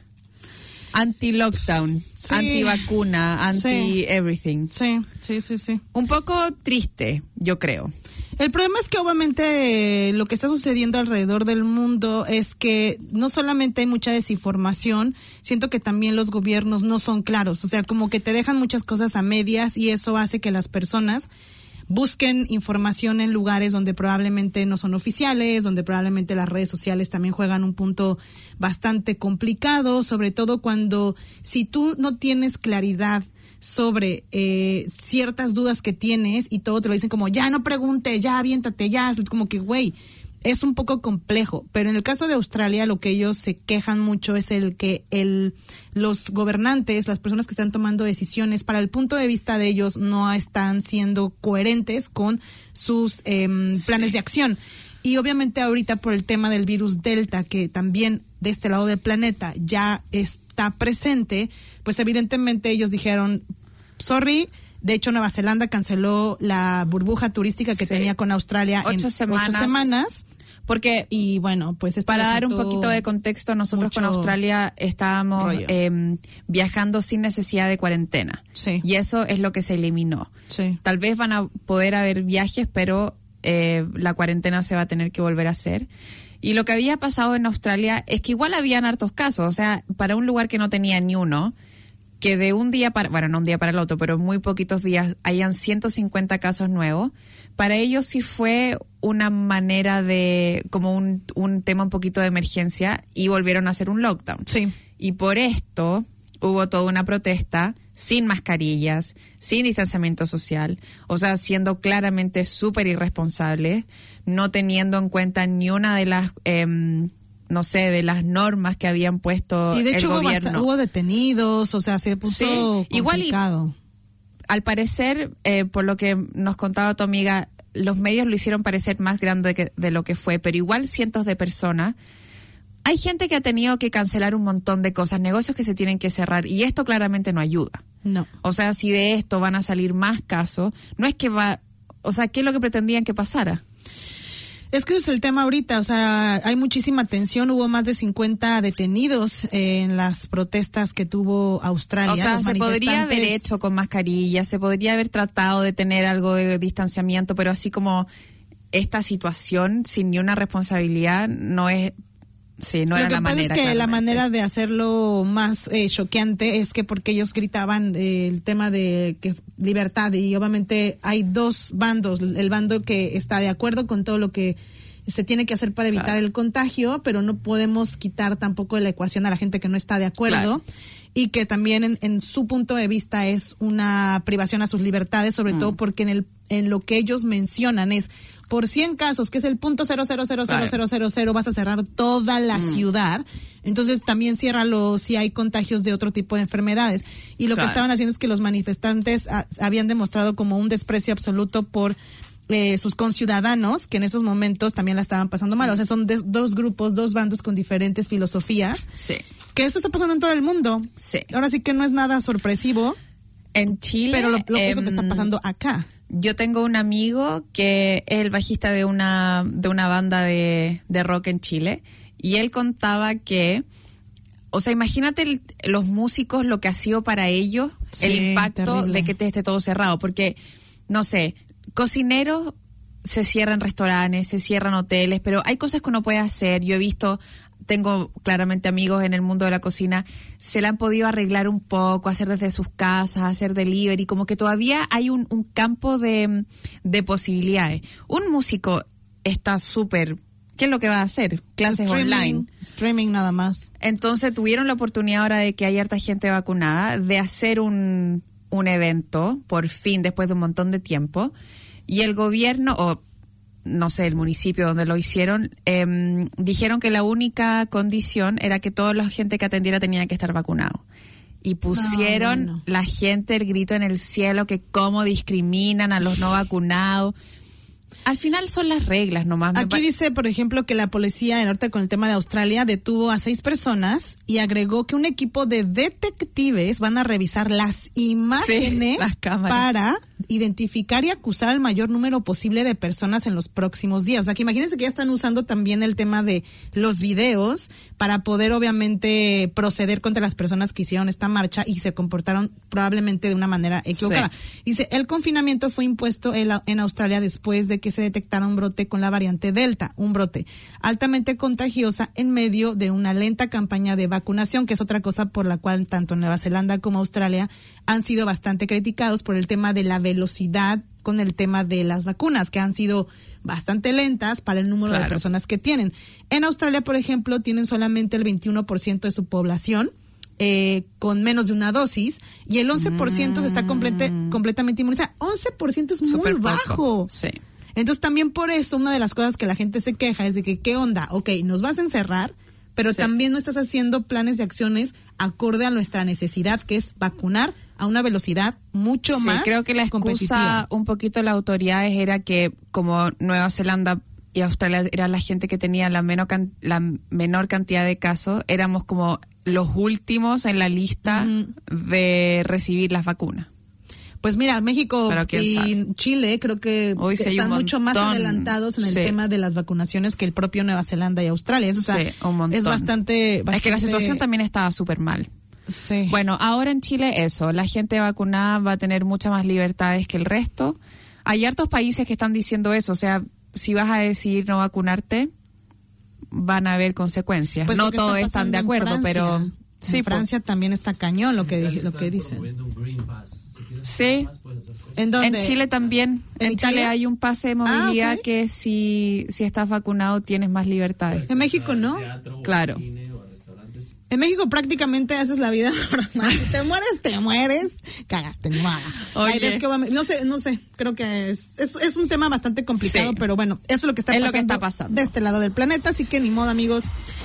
Anti-lockdown, Sí. anti-vacuna, Sí. anti-everything. Sí, sí, sí, sí. Un poco triste, yo creo. El problema es que obviamente eh, lo que está sucediendo alrededor del mundo es que no solamente hay mucha desinformación, siento que también los gobiernos no son claros, o sea, como que te dejan muchas cosas a medias y eso hace que las personas busquen información en lugares donde probablemente no son oficiales, donde probablemente las redes sociales también juegan un punto bastante complicado, sobre todo cuando si tú no tienes claridad sobre eh, ciertas dudas que tienes y todo te lo dicen como ya no preguntes, ya aviéntate, ya, es como que güey, es un poco complejo, pero en el caso de Australia lo que ellos se quejan mucho es el que el los gobernantes, las personas que están tomando decisiones, para el punto de vista de ellos no están siendo coherentes con sus eh, planes de acción. Y obviamente ahorita por el tema del virus Delta, que también de este lado del planeta ya está presente, pues evidentemente ellos dijeron, sorry, de hecho Nueva Zelanda canceló la burbuja turística que Sí. tenía con Australia Ocho en semanas. ocho semanas. Porque Y bueno, pues esto para dar un desató poquito de contexto, nosotros con mucho Australia estábamos rollo. eh, viajando sin necesidad de cuarentena. Sí. Y eso es lo que se eliminó. Sí. Tal vez van a poder haber viajes, pero eh, la cuarentena se va a tener que volver a hacer. Y lo que había pasado en Australia es que igual habían hartos casos. O sea, para un lugar que no tenía ni uno, que de un día para, bueno, no un día para el otro, pero en muy poquitos días hayan ciento cincuenta casos nuevos, para ellos sí fue una manera de, como un, un tema un poquito de emergencia y volvieron a hacer un lockdown. Sí. Y por esto hubo toda una protesta sin mascarillas, sin distanciamiento social, o sea, siendo claramente súper irresponsables, no teniendo en cuenta ni una de las... Eh, no sé, de las normas que habían puesto Y de el hecho hubo, gobierno. bast- hubo detenidos, o sea, se puso Sí, igual y- complicado. Al parecer, eh, por lo que nos contaba tu amiga, los medios lo hicieron parecer más grande que, de lo que fue, pero igual cientos de personas. Hay gente que ha tenido que cancelar un montón de cosas, negocios que se tienen que cerrar, y esto claramente no ayuda. No. O sea, si de esto van a salir más casos, no es que va... O sea, ¿qué es lo que pretendían que pasara? Es que ese es el tema ahorita, o sea, hay muchísima tensión, hubo más de cincuenta detenidos en las protestas que tuvo Australia. O sea, Los se podría haber manifestantes- hecho con mascarilla, se podría haber tratado de tener algo de distanciamiento, pero así como esta situación sin ni una responsabilidad no es... Sí, no Lo era que la pasa manera. es que la claramente. manera de hacerlo más eh, choqueante es que porque ellos gritaban eh, el tema de que libertad y obviamente hay dos bandos, el bando que está de acuerdo con todo lo que se tiene que hacer para evitar Claro. el contagio, pero no podemos quitar tampoco de la ecuación a la gente que no está de acuerdo. Claro. Y que también en, en su punto de vista es una privación a sus libertades, sobre Mm. todo porque en el en lo que ellos mencionan es por cien casos, que es el punto cero cero cero cero cero cero cero, vas a cerrar toda la Mm. ciudad. Entonces también ciérralo si hay contagios de otro tipo de enfermedades. Y lo Claro. que estaban haciendo es que los manifestantes ah, habían demostrado como un desprecio absoluto por eh, sus conciudadanos, que en esos momentos también la estaban pasando mal. O sea, son de- dos grupos, dos bandos con diferentes filosofías. Sí. Que esto está pasando en todo el mundo. Sí. Ahora sí que no es nada sorpresivo, En Chile... pero lo, lo que es lo que está em, pasando acá. Yo tengo un amigo que es el bajista de una, de una banda de, de rock en Chile y él contaba que, o sea, imagínate el- los músicos lo que ha sido para ellos Sí, el impacto terrible. de que te esté todo cerrado, porque, no sé, cocineros se cierran restaurantes, se cierran hoteles, pero hay cosas que uno puede hacer. Yo he visto... Tengo claramente amigos en el mundo de la cocina, se la han podido arreglar un poco, hacer desde sus casas, hacer delivery, como que todavía hay un, un campo de, de posibilidades. Un músico está súper ¿qué es lo que va a hacer? Clases Streaming, online. Streaming nada más. Entonces tuvieron la oportunidad ahora de que hay harta gente vacunada de hacer un, un evento, por fin, después de un montón de tiempo. Y el gobierno, o no sé, el municipio donde lo hicieron, eh, dijeron que la única condición era que toda la gente que atendiera tenía que estar vacunado. Y pusieron no, no. la gente el grito en el cielo que cómo discriminan a los no vacunados. Al final son las reglas nomás. Me Aquí pa- dice, por ejemplo, que la policía, en ahorita con el tema de Australia, detuvo a seis personas y agregó que un equipo de detectives van a revisar las imágenes las cámaras. para identificar y acusar al mayor número posible de personas en los próximos días. O sea, que imagínense que ya están usando también el tema de los videos para poder, obviamente, proceder contra las personas que hicieron esta marcha y se comportaron probablemente de una manera equivocada. Sí. Dice, el confinamiento fue impuesto en, la- en Australia después de que se detectara un brote con la variante Delta, un brote altamente contagiosa en medio de una lenta campaña de vacunación, que es otra cosa por la cual tanto Nueva Zelanda como Australia han sido bastante criticados por el tema de la velocidad con el tema de las vacunas, que han sido bastante lentas para el número Claro. de personas que tienen. En Australia, por ejemplo, tienen solamente el veintiuno por ciento de su población eh, con menos de una dosis y el once por ciento se está complete, completamente inmunizada. once por ciento es muy Súper poco. bajo. Sí. Entonces también por eso una de las cosas que la gente se queja es de que, ¿qué onda? Ok, nos vas a encerrar, pero Sí. también no estás haciendo planes de acciones acorde a nuestra necesidad, que es vacunar a una velocidad mucho Sí, más creo que la excusa competitiva. un poquito de las autoridades era que como Nueva Zelanda y Australia era la gente que tenía la menor, can- la menor cantidad de casos, éramos como los últimos en la lista Ujú. de recibir las vacunas. Pues mira, México Pero quién y sabe. Chile creo que Hoy sí hay están un mucho más montón. adelantados en el Sí. tema de las vacunaciones que el propio Nueva Zelanda y Australia. Eso, o sea, Sí, un montón. es bastante, bastante... Es que la situación también estaba súper mal. Sí. Bueno, ahora en Chile eso, la gente vacunada va a tener muchas más libertades que el resto. Hay hartos países que están diciendo eso, o sea, si vas a decidir no vacunarte, van a haber consecuencias. Pues no lo que todos está están de pasando en acuerdo, Francia. pero En sí, pues. Francia también está cañón lo que, Italia dije- lo está que dicen. promoviendo un Green Pass. Si tienes Sí. Green Pass, puedes hacer cosas. ¿En dónde? En Chile también, ¿En en Chile Chile? hay un pase de movilidad Ah, ok. que si, si estás vacunado tienes más libertades. En México no. Teatro, o Claro. cine, o restaurantes. En México prácticamente haces la vida normal. Si te mueres, te mueres. Cagaste, no. La Oye. idea es que obviamente- no sé, no sé. Creo que es, es, es un tema bastante complicado, Sí. pero bueno, eso es lo que está Es lo pasando, que está pasando. de este lado del planeta. Así que ni modo, amigos.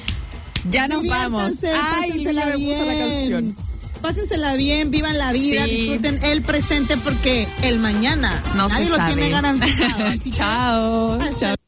Ya nos vamos. Diviértanse, Ay, pásensela ya me puso la bien. canción. Pásensela bien, vivan la vida, Sí. disfruten el presente porque el mañana No nadie se lo sabe. tiene garantizado. Así que Chao. hasta Chao.